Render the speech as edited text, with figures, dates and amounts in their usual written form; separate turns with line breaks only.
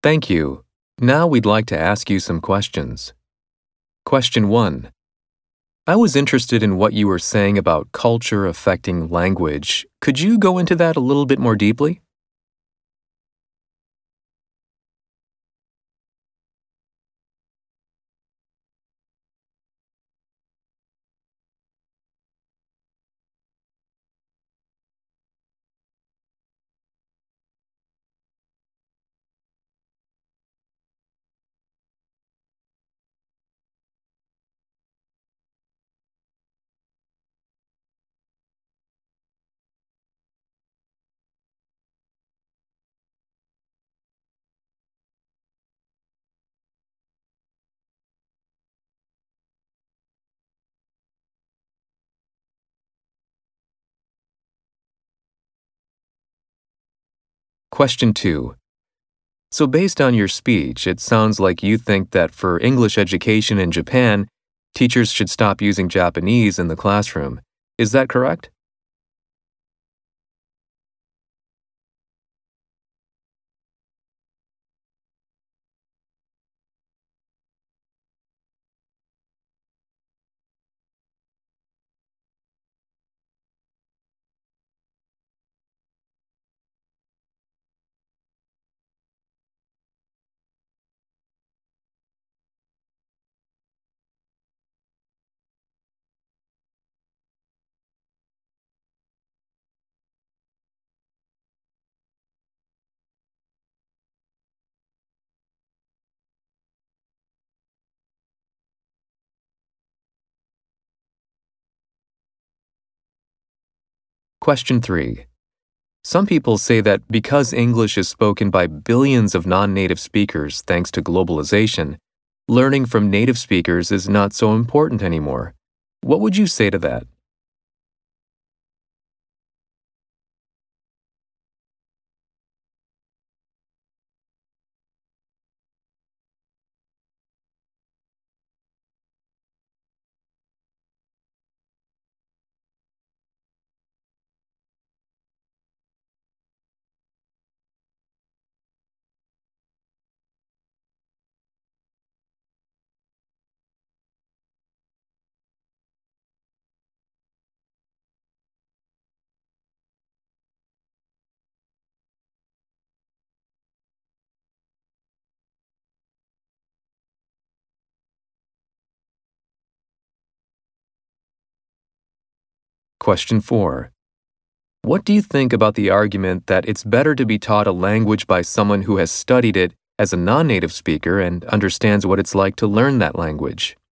Thank you. Now we'd like to ask you some questions. Question 1. I was interested in what you were saying about culture affecting language. Could you go into that a little bit more deeply? Question 2. So, based on your speech, it sounds like you think that for English education in Japan, teachers should stop using Japanese in the classroom. Is that correct? Question 3. Some people say that because English is spoken by billions of non-native speakers thanks to globalization, learning from native speakers is not so important anymore. What would you say to that? Question 4. What do you think about the argument that it's better to be taught a language by someone who has studied it as a non-native speaker and understands what it's like to learn that language?